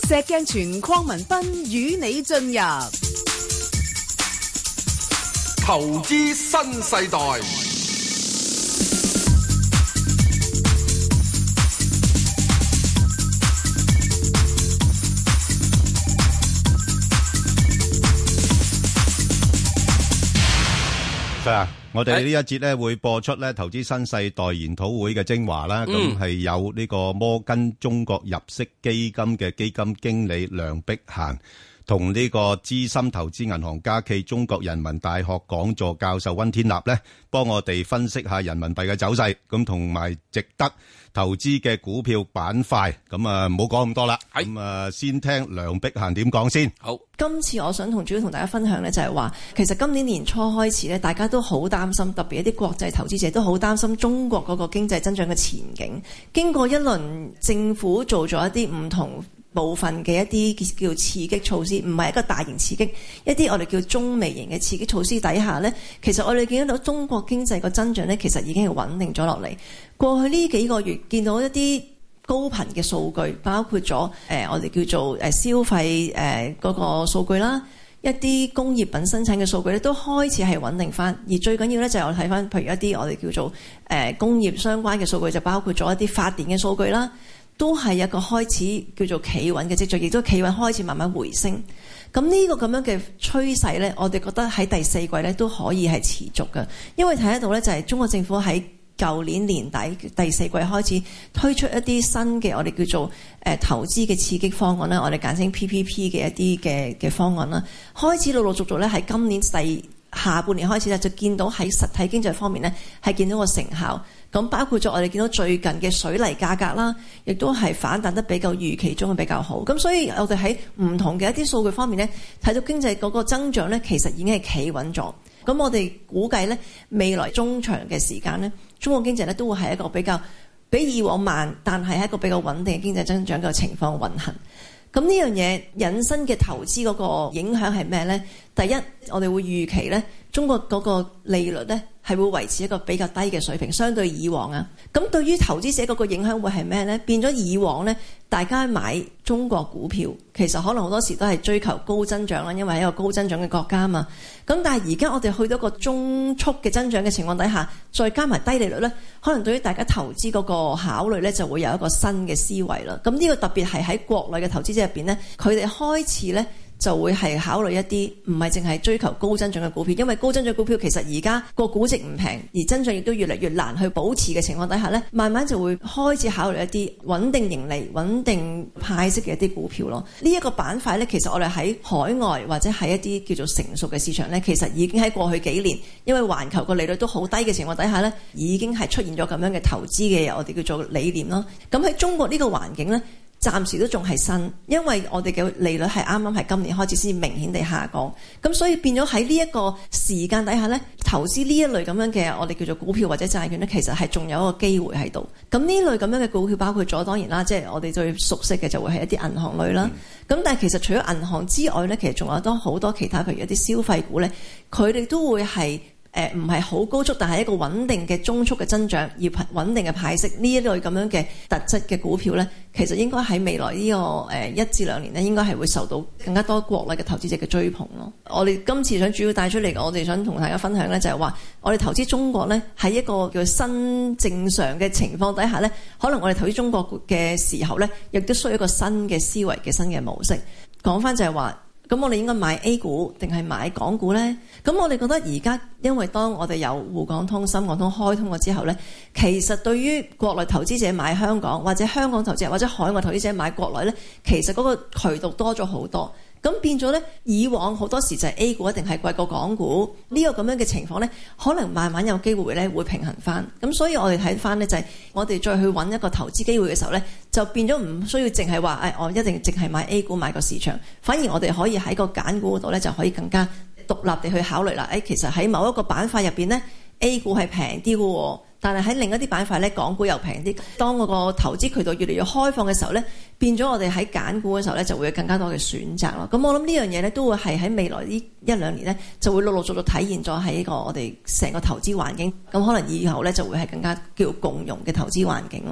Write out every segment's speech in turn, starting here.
石鏡泉鄺民彬與你進入投資新世代。 我哋呢一節咧會播出咧投資新世代研討會嘅精華啦，咁係有呢個摩根中國入息基金嘅基金經理梁碧嫻，同呢個資深投資銀行家暨中國人民大學講座教授溫天納咧，幫我哋分析下人民幣嘅走勢，咁同埋值得投資嘅股票板塊。咁啊，唔好講咁多啦，咁啊，先聽梁碧嫻點講先。 好，今次我想主要同大家分享咧，就係話，其實今年年初開始咧，大家都好擔心，特別一啲國際投資者都好擔心中國嗰個經濟增長嘅前景。經過一輪政府做咗一啲唔同部分嘅一啲叫刺激措施，唔係一個大型刺激，一啲我哋叫中微型嘅刺激措施底下呢，其實我哋見到中國經濟個增長呢，其實已經係穩定咗落嚟。過去呢幾個月見到一啲高頻嘅數據，包括咗我哋叫做消費嗰個數據啦，一啲工業品生產嘅數據咧都開始係穩定翻。而最緊要咧就係我睇翻，譬如一啲我哋叫做工業相關嘅數據，就包括咗一啲發電嘅數據啦。都係一個開始叫做企穩嘅跡象，亦都企穩開始慢慢回升。咁呢個咁樣嘅趨勢呢，我哋覺得喺第四季呢都可以係持續嘅，因為睇得到呢，就係中國政府喺舊年年底第四季開始推出一啲新嘅我哋叫做投資嘅刺激方案啦，我哋簡稱 PPP 嘅一啲嘅方案啦，開始陸陸續續呢喺今年下半年開始呢，就見到喺實體經濟方面呢係見到個成效。咁包括咗我哋見到最近嘅水泥價格啦，亦都係反彈得比較預期中嘅比較好。咁所以我哋喺唔同嘅一啲數據方面呢，睇到經濟嗰個增長呢，其實已經係企穩咗。咁我哋估計呢，未來中長嘅時間呢，中國經濟呢都會係一個比較比以往慢，但係一個比較穩定嘅經濟增長嘅情況運行。咁呢樣嘢引申嘅投資嗰個影響係咩呢？第一，我哋會預期呢，中國嗰個利率呢係會維持一個比較低嘅水平，相對以往啊。咁對於投資者嗰個影響會係咩呢？變咗以往呢，大家買中國股票，其實可能好多時都係追求高增長啦，因為係一個高增長嘅國家嘛。咁但係而家我哋去到個中速嘅增長嘅情況底下，再加埋低利率呢，可能對於大家投資嗰個考慮呢，就會有一個新嘅思維啦。咁呢個特別係喺國內嘅投資者入邊呢，佢哋開始呢，就會係考慮一啲唔係淨係追求高增長嘅股票，因為高增長股票其實而家個估值唔平，而增長亦都越嚟越難去保持嘅情況底下呢，慢慢就會開始考慮一啲穩定盈利、穩定派息嘅一啲股票咯。呢一個板塊呢，其實我哋喺海外或者喺一啲叫做成熟嘅市場呢，其實已經喺過去幾年，因為環球個利率都好低嘅情況底下呢，已經係出現咗咁樣嘅投資嘅我哋叫做理念咯。咁喺中國呢個環境呢，暫時都仲係新，因為我哋嘅利率係啱啱係今年開始先明顯地下降，咁所以變咗喺呢一個時間底下呢，投資呢一類咁樣嘅我哋叫做股票或者債券呢，其實係仲有一個機會喺度。咁呢類咁樣嘅股票包括咗當然啦，即係我哋最熟悉嘅就會係一啲銀行類啦。咁但係其實除咗銀行之外呢，其實仲有好多其他，譬如一啲消費股呢，佢哋都會係唔係好高速，但係一個穩定嘅中速嘅增長，而穩定嘅派息呢一類咁樣嘅特質嘅股票呢，其實應該喺未來呢個1至2年呢，應該係會受到更加多國內嘅投資者嘅追捧咯。我哋今次想主要帶出嚟，我哋想同大家分享呢，就係話我哋投資中國呢，喺一個叫新正常嘅情況底下呢，可能我哋投資中國嘅時候呢，亦都需要一個新嘅思維嘅新嘅模式。講翻就係話，咁我哋應該買 A 股定係買港股呢？咁我哋覺得而家因為當我哋有滬港通、深港通開通咗之後呢，其實對於國內投資者買香港，或者香港投資者或者海外投資者買國內呢，其實嗰個渠道多咗好多。咁變咗呢，以往好多時就係 A 股一定係貴過港股呢個咁樣嘅情況呢，可能慢慢有機會呢會平衡翻。咁所以我哋睇翻呢，就係我哋再去揾一個投資機會嘅時候呢，就變咗唔需要淨係話我一定淨係買 A 股買個市場，反而我哋可以喺個揀股嗰度呢，就可以更加獨立地去考慮啦。其實喺某一個板塊入邊呢， A 股係平啲嘅喎，但係喺另一啲板塊呢，港股又平啲。當嗰個投資渠道越嚟越開放嘅時候呢，變咗我哋喺揀股嘅時候呢，就會有更加多嘅選擇咯。咁我諗呢樣嘢呢，都會係喺未來呢1-2年呢，就會陸陸續續體現咗喺呢個我哋成個投資環境。咁可能以後呢，就會係更加叫共融嘅投資環境咯。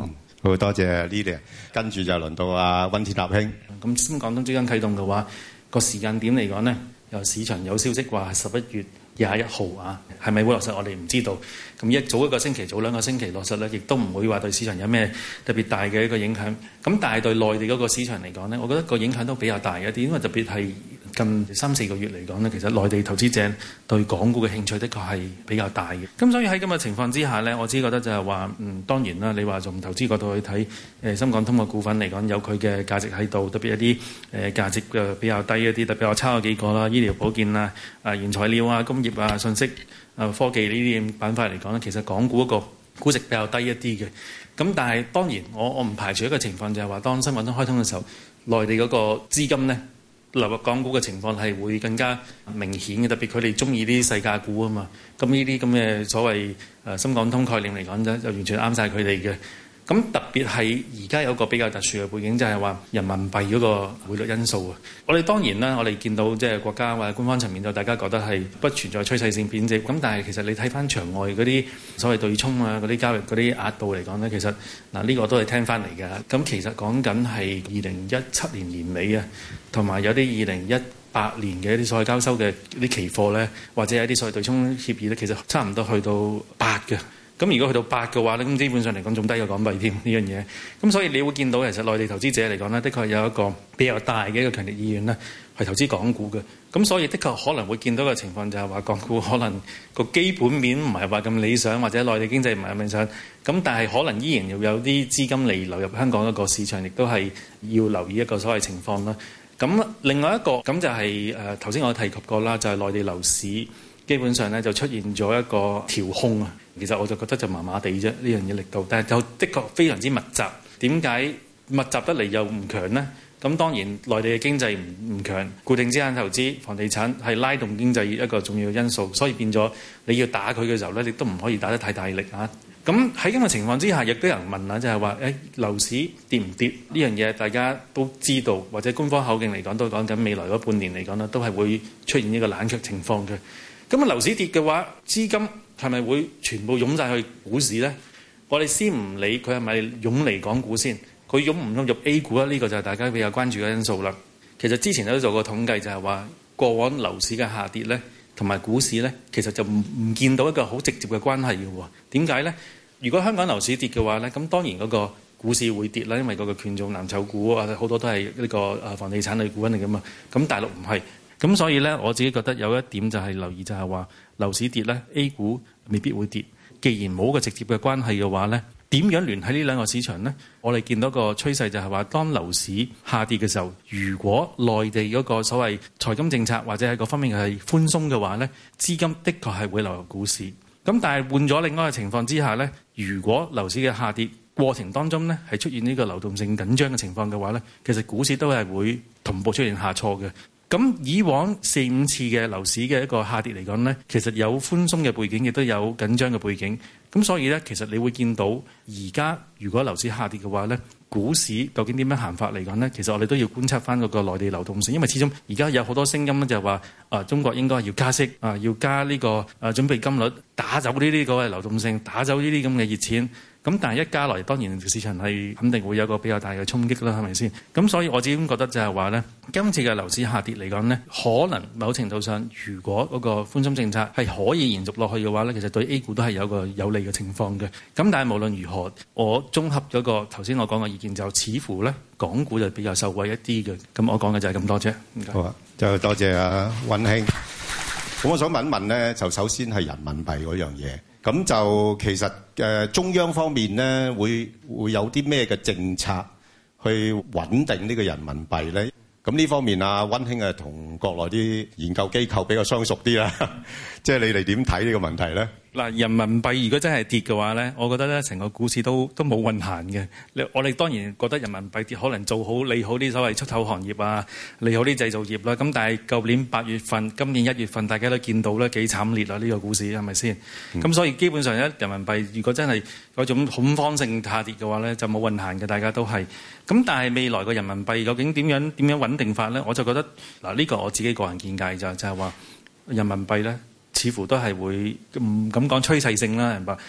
好多謝 Lily， 跟住就輪到阿溫天納兄。 咁深港通即將啟動嘅話，個時間點嚟講呢，由市場有消息話係11月21號啊，係咪會落實我哋唔知道。咁早一個星期、早2個星期落實呢，亦都唔會話對市場有咩特別大嘅一個影響。咁但係對內地嗰個市場嚟講呢，我覺得個影響都比較大一啲，因為特別係近3-4個月嚟講呢，其實內地投資者對港股嘅興趣的確係比較大嘅。咁所以喺咁嘅情況之下呢，我自己覺得就係話，當然啦，你話從投資角度去睇，深港通嘅股份嚟講有佢嘅價值喺度，特別一啲價值比較低一啲，特別我抄咗幾個啦，醫療保健啊、原材料啊、工業啊、信息科技呢啲板塊嚟講呢，其實港股嗰個估值比較低一啲嘅。咁但係當然我唔排除一個情況就係話，當深港通開通嘅時候，內地嗰個資金呢流入港股嘅情況係會更加明顯嘅，特別佢哋中意啲細價股啊嘛。咁呢啲咁嘅所謂深港通概念嚟講咧，就完全啱晒佢哋嘅。咁特別係而家有個比較特殊嘅背景，就係話人民幣嗰個匯率因素啊。我哋當然啦，我哋見到即係國家或者官方層面就大家覺得係不存在趨勢性貶值。咁但係其實你睇翻場外嗰啲所謂對沖啊、嗰啲交易嗰啲額度嚟講呢，其實呢個都係聽翻嚟嘅。咁其實講緊係2017年年尾啊，同埋有啲2018年嘅一啲所謂交收嘅啲期貨呢，或者有啲所謂對沖協議呢，其實差唔多去到8嘅。咁如果去到8嘅話咧，咁基本上嚟講仲低過港幣添呢樣嘢。咁所以你會見到其實內地投資者嚟講呢，的確有一個比較大嘅一個強烈意願呢，係投資港股嘅。咁所以的確可能會見到嘅情況就係話，港股可能個基本面唔係話咁理想，或者內地經濟唔係咁理想。咁但係可能依然要有啲資金嚟流入香港一個市場，亦都係要留意一個所謂情況啦。咁另外一個咁就係頭先我提及過啦，就係內地樓市基本上呢就出現咗一個調控啊。其實我就覺得就麻麻地啫，呢樣嘢力度，但係就的確非常之密集。點解密集得嚟又唔強呢？咁當然內地嘅經濟唔強，固定資產投資、房地產係拉動經濟一個重要因素，所以變咗你要打佢嘅時候呢，你都唔可以打得太大力啊。咁喺咁嘅情況之下，亦都有人問啦，就係話樓市跌唔跌呢樣嘢？大家都知道，或者官方口徑嚟講都講緊未來嗰半年嚟講呢，都係會出現呢個冷卻情況嘅。咁啊樓市跌嘅話，資金係咪會全部湧晒去股市呢？我哋先唔理佢係咪湧嚟港股先，佢湧唔湧入 A 股呢？呢個就係大家比較關注嘅因素啦。其實之前都做過統計，就係話過往樓市嘅下跌呢，同埋股市呢，其實就唔見到一個好直接嘅關係嘅喎。點解呢？如果香港樓市跌嘅話呢，咁當然嗰個股市會跌啦，因為嗰個權重藍籌股啊好多都係呢個房地產類股份嚟㗎嘛。咁大陸唔係。咁所以呢，我自己覺得有一點就係留意，就係話樓市跌呢 A 股未必會跌。既然冇個直接嘅關係嘅話呢，點樣聯繫呢兩個市場呢？我哋見到個趨勢就係話，當樓市下跌嘅時候，如果內地嗰個所謂財金政策或者係各方面係寬鬆嘅話呢，資金的確係會流入股市。咁但係換咗另外一個情況之下呢，如果樓市嘅下跌過程當中呢係出現呢個流動性緊張嘅情況嘅話呢，其實股市都係會同步出現下挫嘅。咁以往4-5次嘅樓市嘅一個下跌嚟講呢，其實有寬鬆嘅背景，亦都有緊張嘅背景。咁所以呢，其實你會見到而家如果樓市下跌嘅話呢，股市究竟點樣行法嚟講呢？其實我哋都要觀察翻嗰個內地流動性，因為始終而家有好多聲音呢，就係話中國應該要加息要加呢個準備金率，打走呢啲嗰個流動性，打走呢啲咁嘅熱錢。咁但係一加來，當然市場係肯定會有個比較大嘅衝擊啦，係咪先？咁所以我自己覺得就係話呢，今次嘅樓市下跌嚟講呢，可能某程度上，如果嗰個寬鬆政策係可以延續落去嘅話呢，其實對 A 股都係有個有利嘅情況嘅。咁但係無論如何，我綜合咗個頭先我講嘅意見，就似乎呢港股就比較受惠一啲嘅。咁我講嘅就係咁多啫。 好啊，就多謝阿溫兄。咁我想問一問呢，就首先係人民幣嗰樣嘢。咁就其實中央方面咧，會有啲咩嘅政策去穩定呢個人民幣咧？咁呢方面啊，溫兄同國內啲研究機構比較相熟啲啦，即係你哋點睇呢個問題咧？ 嗱，人民幣如果真係跌嘅話咧，我覺得咧成個股市都冇運行嘅。我哋當然覺得人民幣跌可能做好利好啲所謂出口行業啊，利好啲製造業啦。咁但係舊年8月份、今年1月份，大家都見到咧幾慘烈啊！呢個股市係咪先？咁所以基本上咧，人民幣如果真係嗰種恐慌性下跌嘅話咧，就冇運行嘅，大家都係。咁但係未來個人民幣究竟點樣穩定法咧？我就覺得嗱，呢個我自己個人見解就係話人民幣咧。似乎都係會唔敢講趨勢性啦，明白？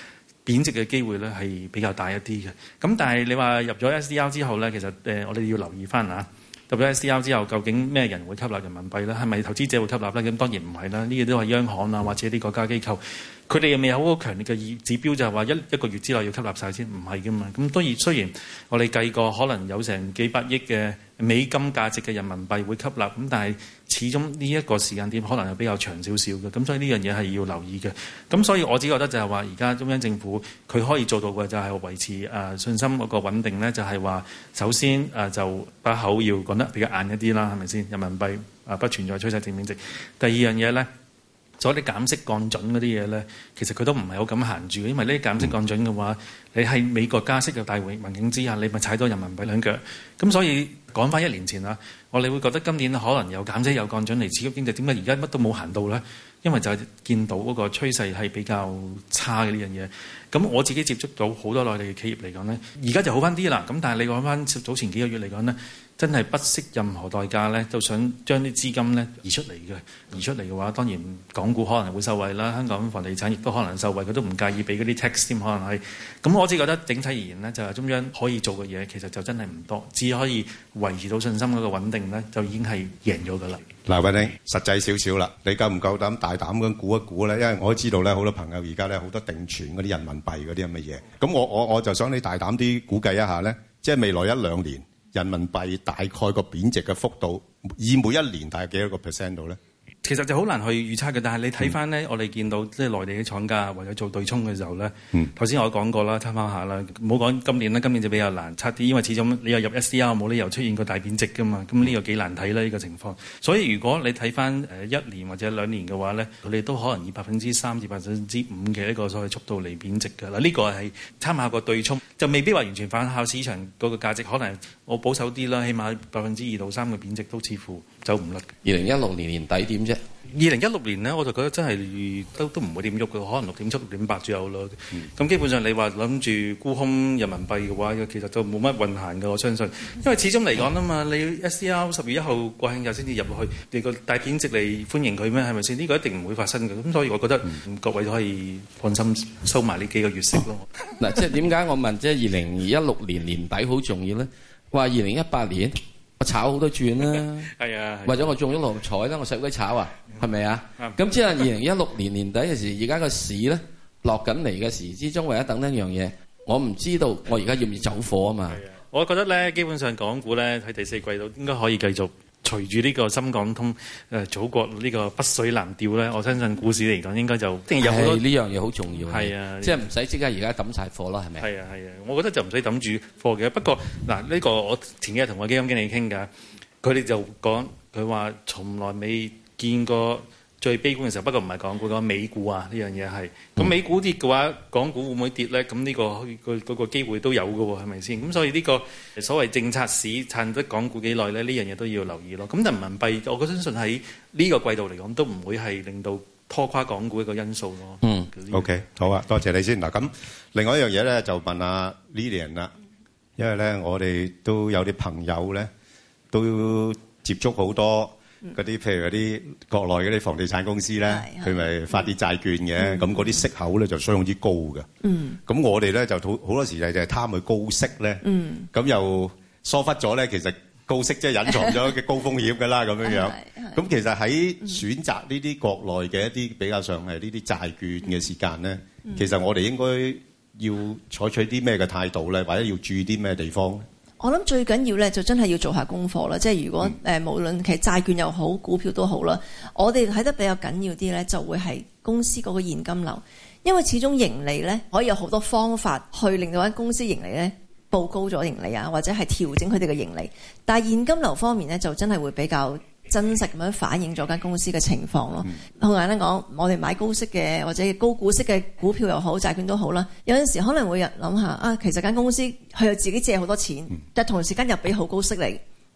貶值嘅機會咧係比較大一啲嘅。咁但係你話入咗 SDR 之後咧，其實我哋要留意翻啊。入咗 SDR 之後，究竟咩人會吸納人民幣咧？係咪投資者會吸納咧？咁當然唔係啦，呢啲都係央行啊或者啲國家機構，佢哋又未有好強烈嘅指標，就係話一個月之內要吸納晒先，唔係噶嘛。咁當然雖然我哋計過可能有成幾百億嘅美金價值嘅人民幣會吸納，咁但係始終呢一個時間點可能係比較長少少嘅，咁所以呢樣嘢係要留意嘅。咁所以我只覺得就係話，而家中央政府佢可以做到嘅就係維持信心嗰個穩定咧，就係話首先就把口要講得比較硬一啲啦，係咪先？人民幣不存在趨勢性貶值。第二樣嘢咧，所以啲減息降準嗰啲嘢咧，其實佢都唔係好咁行住嘅，因為呢啲減息降準嘅話，你喺美國加息嘅大環境之下，你咪踩到人民幣兩腳。咁所以講翻1年前啦，我哋會覺得今年可能有減息有降準嚟刺激經濟，點解而家乜都冇行到咧？因為就係見到嗰個趨勢係比較差嘅呢樣嘢。咁我自己接觸到好多內地嘅企業嚟講咧，而家就好翻啲啦。咁但係你講翻早前幾個月嚟講咧，真係不惜任何代價咧，都想將啲資金咧移出嚟嘅。移出嚟嘅話，當然港股可能會受惠啦，香港房地產亦都可能受惠，佢都唔介意俾嗰啲 tax 添，可能係。咁我只覺得整體而言呢，就係中央可以做嘅嘢，其實就真係唔多，只可以維持到信心嗰個穩定咧，就已經係贏咗㗎啦。 嗱，偉丁，實際少少啦，你夠唔夠膽大膽咁估一估咧？因為我都知道咧，好多朋友而家咧好多定存嗰啲人民幣嗰啲咁嘅嘢，咁我就想你大膽啲估計一下咧，即係未來1-2年人民幣大概個貶值嘅幅度，以每一年大概幾多個 percent 度咧？ 其實就好難去預測嘅，但係你睇翻咧，我哋見到即係內地嘅廠家為咗做對沖嘅時候咧，頭先我講過啦，參考下啦，唔好講今年啦，今年就比較難測啲，因為始終你又入 SDR 冇理由出現個大貶值噶嘛，咁呢個幾難睇啦呢個情況。所以如果你睇翻1年或者2年嘅話咧，佢哋都可能以3%至5%嘅一個所謂速度嚟貶值㗎啦。呢個係參考個對沖，就未必話完全反效市場嗰個價值，可能我保守啲啦，起碼2%到3%嘅貶值都似乎走唔甩。 2016年年底點啫 ？2016年呢，我就覺得真係都唔會點喐嘅，可能6.7、6.8左右咯。咁基本上你話諗住沽空人民幣嘅話，其實就冇乜運行嘅，我相信。因為始終嚟講啊嘛，你 SDR 10月1號國慶日先至入去，你個大貶值嚟歡迎佢咩？係咪先？呢個一定唔會發生嘅。咁所以我覺得各位都可以放心收埋呢幾個月息咯。 嗱，即係點解我問即係2016年年底好重要咧？話2018年。我炒好多轉啦，係啊，或者我中咗六合彩啦，我使鬼炒啊，係咪啊？咁即係2016年年底嘅時，而家個市咧落緊嚟嘅時之中，為咗等一樣嘢，我唔知道我而家要唔要走貨啊嘛。 我覺得咧，基本上港股咧喺第4季度應該可以繼續隨住呢個深港通祖國呢個北水南調咧，我相信股市嚟講應該就一定有好多呢樣嘢好重要。 係啊， 即係唔使即刻而家抌晒貨咯，係咪？ 係啊，我覺得就唔使抌住貨嘅。不過嗱，呢個我前幾日同我基金經理傾㗎，佢哋就講佢話從來未見過最悲觀嘅時候。不過唔係港股，講美股啊，呢樣嘢係。咁美股跌嘅話，港股會唔會跌咧？咁呢個機會都有嘅喎，係咪先？咁所以呢個所謂政策市撐得港股幾耐咧？呢樣嘢都要留意咯。咁人民幣，我相信喺呢個季度嚟講，都唔會係令到拖垮港股一個因素咯。 OK， 好啊，多謝你先。嗱，咁另外一樣嘢咧，就問下 Lilian 啦，因為咧我哋都有啲朋友咧都接觸好多嗰啲，譬如嗰啲國內嗰啲房地產公司咧，佢咪發啲債券嘅，咁嗰啲息口咧就相當之高嘅。咁我哋咧就好多時就係貪佢高息咧，咁又疏忽咗咧，其實高息即係隱藏咗嘅高風險㗎啦，咁樣樣。咁其實喺選擇呢啲國內嘅一啲比較上係呢啲債券嘅時間咧，其實我哋應該要採取啲咩嘅態度咧，或者要注意啲咩地方咧？ 我諗最緊要咧就真係要做下功課啦，即係如果無論其實債券又好，股票都好啦，我哋睇得比較緊要啲咧，就會係公司嗰個現金流，因為始終盈利咧可以有好多方法去令到間公司盈利咧報高咗盈利啊，或者係調整佢哋嘅盈利，但係現金流方面咧就真係會比較真實咁樣反映咗間公司嘅情況咯。好簡單講，我哋買高息嘅或者高股息嘅股票又好，債券都好啦。有陣時可能會諗下啊，其實間公司佢又自己借好多錢，但同時間又俾好高息嚟，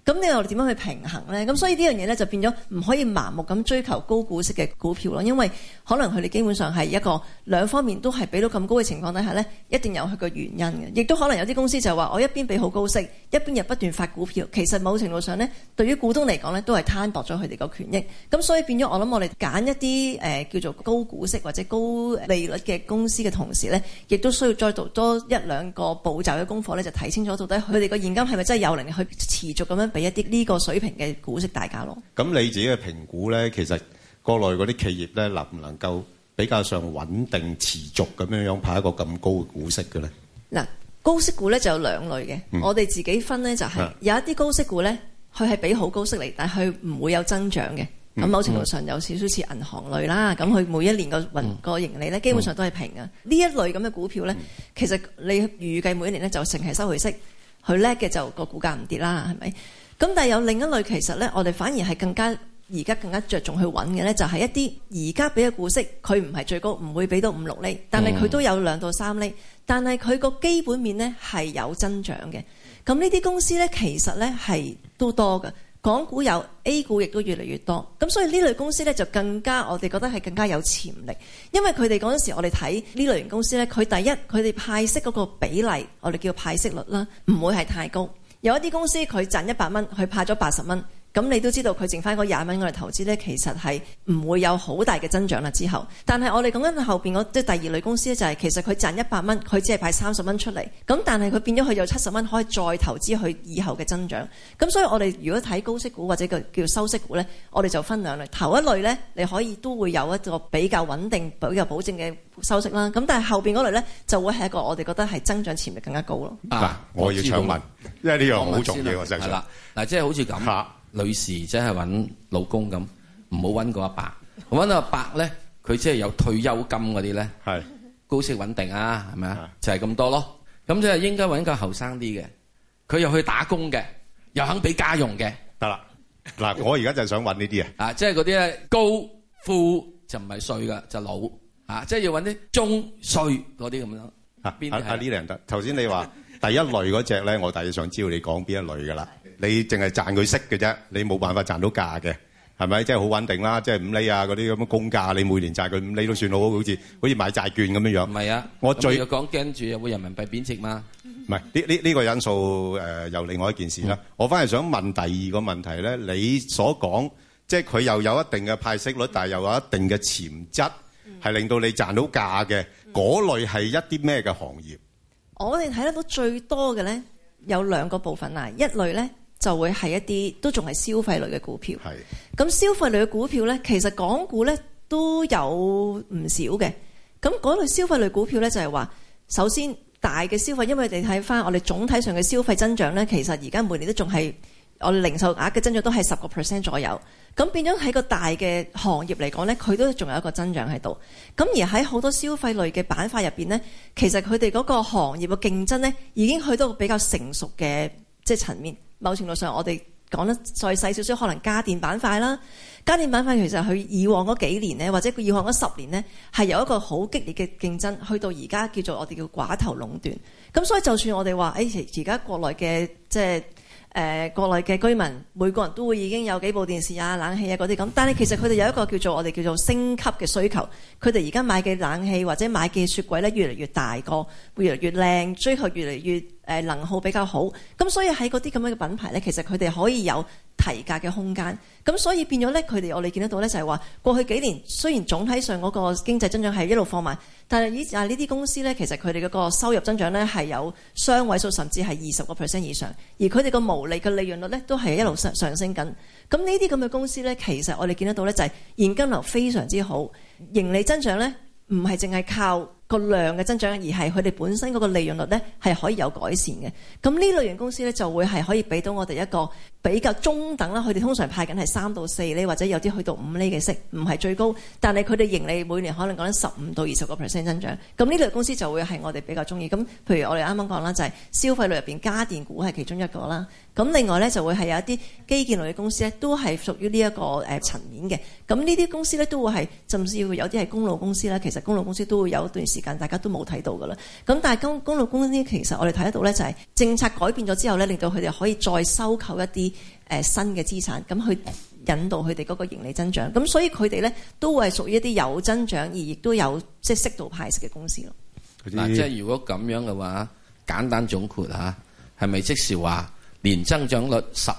咁你又點樣去平衡咧？咁所以呢樣嘢咧就變咗唔可以盲目咁追求高股息嘅股票咯，因為可能佢哋基本上係一個兩方面都係俾到咁高嘅情況底下咧，一定有佢個原因嘅。亦都可能有啲公司就話我一邊俾好高息，一邊又不斷發股票，其實某程度上咧，對於股東嚟講咧，都係攤薄咗佢哋個權益。咁所以變咗我諗我哋揀一啲叫做高股息或者高利率嘅公司嘅同時咧，亦都需要再做多一兩個步驟嘅功課咧，就睇清楚到底佢哋個現金係咪真係有能力去持續咁樣俾一啲呢個水平嘅股息大家咯。 咁你自己嘅評估咧，其實國內嗰啲企業咧，能唔能夠比較上穩定持續咁樣派一個咁高嘅股息嘅咧？嗱， 高息股咧就有兩類嘅，我哋自己分咧就係有一啲高息股咧，佢係俾好高息嚟，但係佢唔會有增長嘅。咁某程度上有少少似銀行類啦，咁佢每一年個盈利咧基本上都係平嘅。呢一類咁嘅股票咧，其實你預計每一年咧就淨係收佢息，佢叻嘅就個股價唔跌啦，係咪？咁但係有另一類其實咧，我哋反而係而家更加着重去揾嘅咧，就係一啲而家俾嘅股息，佢唔係最高，唔會俾到5-6厘，但係佢都有2到3厘，但係佢個基本面咧係有增長嘅。咁呢啲公司咧其實咧係都多嘅。港股有 A 股亦都越嚟越多，咁所以呢類公司咧就更加我哋覺得係更加有潛力，因為佢哋嗰陣時我哋睇呢類型公司咧，佢第一佢哋派息嗰個比例，我哋叫派息率啦，唔會係太高。有一啲公司佢賺100蚊，佢派咗80蚊。咁你都知道佢剩翻嗰20蚊我哋投資咧，其實係唔會有好大嘅增長啦之後。但係我哋講緊後邊即係第二類公司咧，就係其實佢賺100蚊，佢只係派30蚊出嚟。咁但係佢變咗佢有70蚊可以再投資佢以後嘅增長。咁所以我哋如果睇高息股或者叫收息股咧，我哋就分兩類。頭一類咧，你可以都會有一個比較穩定、比較保證嘅收息啦。咁但係後邊嗰類咧，就會係一個我哋覺得係增長潛力更加高咯。 我要搶問，因為呢樣好重要，實際上係啦。 嗱，即係好似咁。女士即係揾老公咁，唔好揾個阿伯。揾阿伯咧，佢即係有退休金嗰啲咧，係高息穩定啊，係咪啊？就係咁多咯。咁即係應該揾個後生啲嘅，佢又去打工嘅，又肯俾家用嘅，得啦。嗱，我而家就想揾呢啲啊，即係嗰啲咧高富就唔係歲噶，就老啊，即係要揾啲中歲嗰啲咁樣。邊啲係？呢兩得。頭先你話第一類嗰隻咧，我大約想知道你講邊一類噶啦。你淨係賺佢息嘅啫，你冇辦法賺到價嘅，係咪？即係好穩定啦，即係5厘啊嗰啲咁嘅公價，你每年賺佢5厘都算好似買債券咁樣樣。唔係啊，我最要講驚住有冇人民幣貶值嘛？唔係呢個因素又另外一件事啦。我反而想問第二個問題咧，你所講即係佢又有一定嘅派息率，但係又有一定嘅潛質，係令到你賺到價嘅嗰類係一啲咩嘅行業？ 我哋睇得到最多嘅咧有2個部分啦，一類咧。就會係一啲都仲係消費類嘅股票。咁消費類嘅股票咧，其實港股咧都有唔少嘅。咁嗰類消費類股票咧，就係話，首先大嘅消費，因為你睇翻我哋總體上嘅消費增長咧，其實而家每年都仲係我哋零售額嘅增長都係10% 左右。咁變咗喺個大嘅行業嚟講咧，佢都仲有一個增長喺度。咁而喺好多消費類嘅板塊入邊咧，其實佢哋嗰個行業嘅競爭咧，已經去到個比較成熟嘅即係層面。某程度上，我哋講得再細少少，可能家電板塊啦。家電板塊其實佢以往嗰幾年咧，或者佢以往嗰10年咧，係有一個好激烈嘅競爭，去到而家叫做我哋叫寡頭壟斷。咁所以就算我哋話，而家國內嘅即係國內嘅居民，每個人都會已經有幾部電視啊、冷氣啊嗰啲咁，但係其實佢哋有一個叫做我哋叫做升級嘅需求。佢哋而家買嘅冷氣或者買嘅雪櫃咧，越嚟越大個，會越嚟越靚，追求越嚟越能耗比較好。咁所以喺嗰啲咁樣嘅品牌咧，其實佢哋可以有提價嘅空間。咁所以變咗咧，佢哋我哋見得到咧，就係話過去幾年雖然總體上嗰個經濟增長係一路放慢，但係呢啲公司咧，其實佢哋嗰個收入增長咧係有雙位數，甚至係20% 以上，而佢哋個毛利嘅利潤率咧都係一路上升緊。咁呢啲咁嘅公司咧，其實我哋見得到咧，就係現金流非常之好，盈利增長咧唔係淨係靠個量嘅增長，而係佢哋本身嗰個利潤率咧係可以有改善嘅。咁呢類型公司咧就會係可以俾到我哋一個比較中等啦。佢哋通常派緊係3到4厘，或者有啲去到5厘嘅息，唔係最高，但係佢哋盈利每年可能講緊15到20% 增長。咁呢類公司就會係我哋比較中意。咁譬如我哋啱啱講啦，就係消費類入邊家電股係其中一個啦。咁另外咧就會係有一啲基建類嘅公司咧，都係屬於呢一個層面嘅。咁呢啲公司咧都會係甚至乎有啲係公路公司啦。其實公路公司都會有一段時時間大家都冇睇到㗎啦。咁但係公路公司其實我哋睇得到咧，就係政策改變咗之後咧，令到佢哋可以再收購一啲新嘅資產，咁去引導佢哋嗰個盈利增長。咁所以佢哋咧都會係屬於一啲有增長而亦都有即係適度派息嘅公司咯。 嗱，即係如果咁樣嘅話，簡單總括嚇，係咪即是話年增長率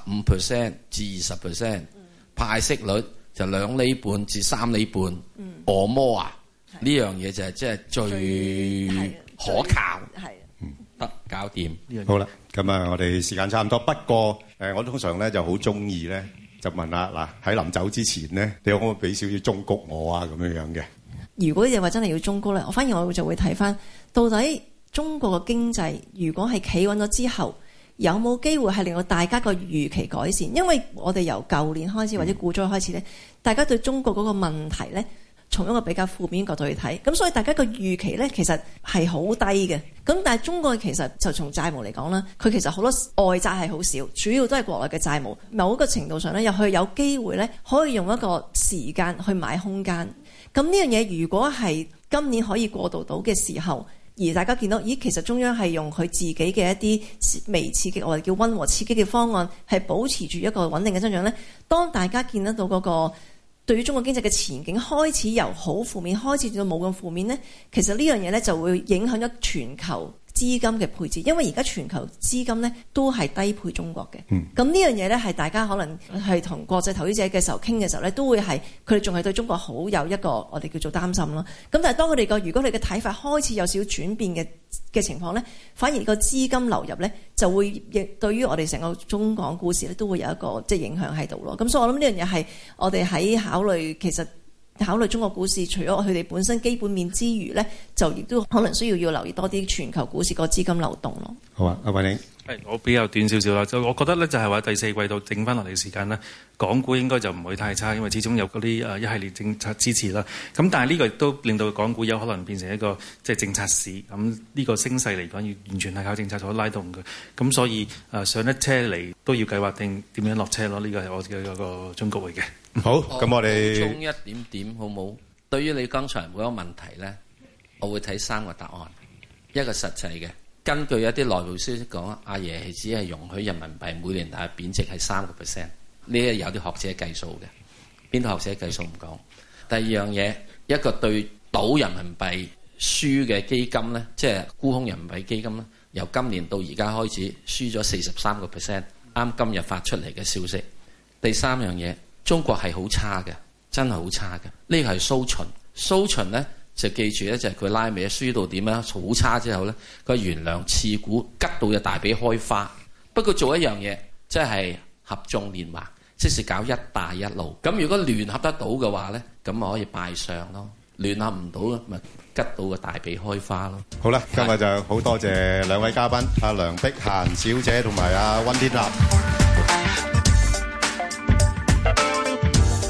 15% 至20%，派息率就2厘半至3厘半，按摩啊？呢樣嘢就係即係最可靠，得搞掂。 好啦，咁啊，我哋時間差唔多。不過我通常咧就好中意咧，就問下嗱，喺臨走之前咧，你可唔可以俾少少忠告我啊？咁樣嘅。如果你話真係要忠告咧，我反而我就會睇翻到底中國嘅經濟如果係企穩咗之後，有冇機會係令到大家個預期改善？因為我哋由舊年開始或者股災開始咧，大家對中國嗰個問題咧，從一個比較負面角度去睇，咁所以大家個預期咧其實係好低嘅。咁但係中國其實就從債務嚟講啦，佢其實好多外債係好少，主要都係國內嘅債務。某一個程度上咧，又去有機會咧可以用一個時間去買空間。咁呢樣嘢如果係今年可以過渡到嘅時候，而大家見到，咦，其實中央係用佢自己嘅一啲微刺激，我哋叫溫和刺激嘅方案，係保持住一個穩定嘅增長咧。當大家見得到嗰個對於中國經濟嘅前景開始由好負面開始到冇咁負面咧，其實呢樣嘢咧就會影響咗全球資金嘅配置，因為而家全球資金咧都係低配中國嘅。咁呢樣嘢咧係大家可能係同國際投資者嘅時候傾嘅時候咧，都會係佢哋仲係對中國好有一個我哋叫做擔心咯。咁但係當佢哋如果你嘅睇法開始有少少轉變嘅情況咧，反而個資金流入咧就會亦對於我哋成個中港股市咧都會有一個即係影響喺度咯。咁所以我諗呢樣嘢係我哋喺考慮中國股市，除咗佢哋本身基本面之餘咧，就亦都可能需要留意多啲全球股市個資金流動咯。 好啊，阿偉寧。 我比較短少少啦，就我覺得咧就係話第四季度剩翻落嚟嘅時間咧，港股應該就唔會太差，因為始終有嗰啲一系列政策支持啦。咁但係呢個亦都令到港股有可能變成一個即係政策市。咁呢個升勢嚟講，要完全係靠政策所拉動嘅。咁所以上一車嚟都要計劃定點樣落車咯。呢個係我嘅嗰個忠告嚟嘅。 好，咁我哋補充一點好冇？對於你剛才嗰個問題咧，我會睇3個答案，一個實際嘅。根據一啲內部消息講，阿爺係只係容許人民幣每年大約貶值係3%，呢係有啲學者計數嘅，邊啲學者計數唔講。第二樣嘢，一個對賭人民幣輸嘅基金咧，即係沽空人民幣基金咧，由今年到而家開始輸咗43%，啱今日發出嚟嘅消息。第三樣嘢，中國係好差嘅，真係好差嘅。呢個係蘇秦咧。就記住咧，就係佢拉尾輸到點樣好差之後咧，佢懸梁刺股，吉到隻大髀開花。不過做一樣嘢，即係合縱連橫，即是搞一帶一路。咁如果聯合得到嘅話咧，咁咪可以拜相咯。聯合唔到咪吉到個大髀開花咯。 好啦，今日就好多謝兩位嘉賓，阿梁碧嫻小姐同埋阿溫天納。